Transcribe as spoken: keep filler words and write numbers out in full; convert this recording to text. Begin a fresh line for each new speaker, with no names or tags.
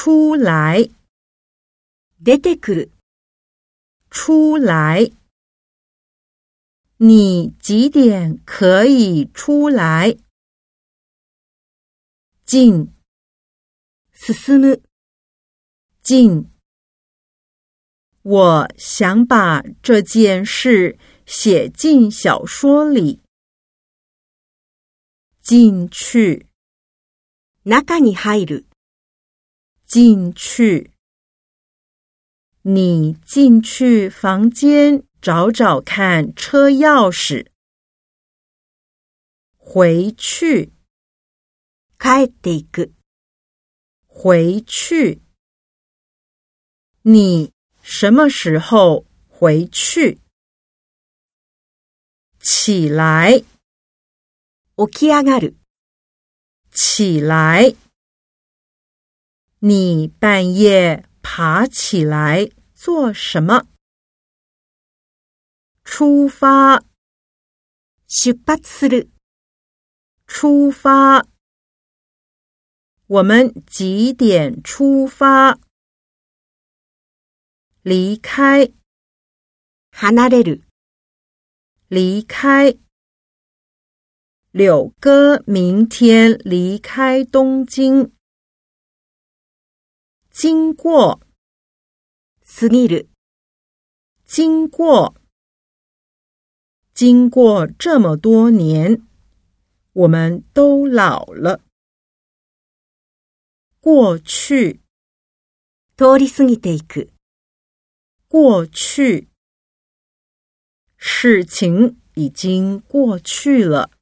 出来。
出てくる。
出来。你几点可以出来？进。
進む。
进。我想把这件事写进小说里。进去。
中に入る。
进去。你进去房间找找看车钥匙。回去。
帰っていく。
回去。你什么时候回去？起来。
起き上がる。
起来。你半夜爬起来做什么？出发。
出発する。
出发。我们几点出发？离开。
離れる。
离开。柳哥明天离开东京。经过。
過ぎる。
经过。经过这么多年，我们都老了。过去。
通り過ぎていく。
过去。事情已经过去了。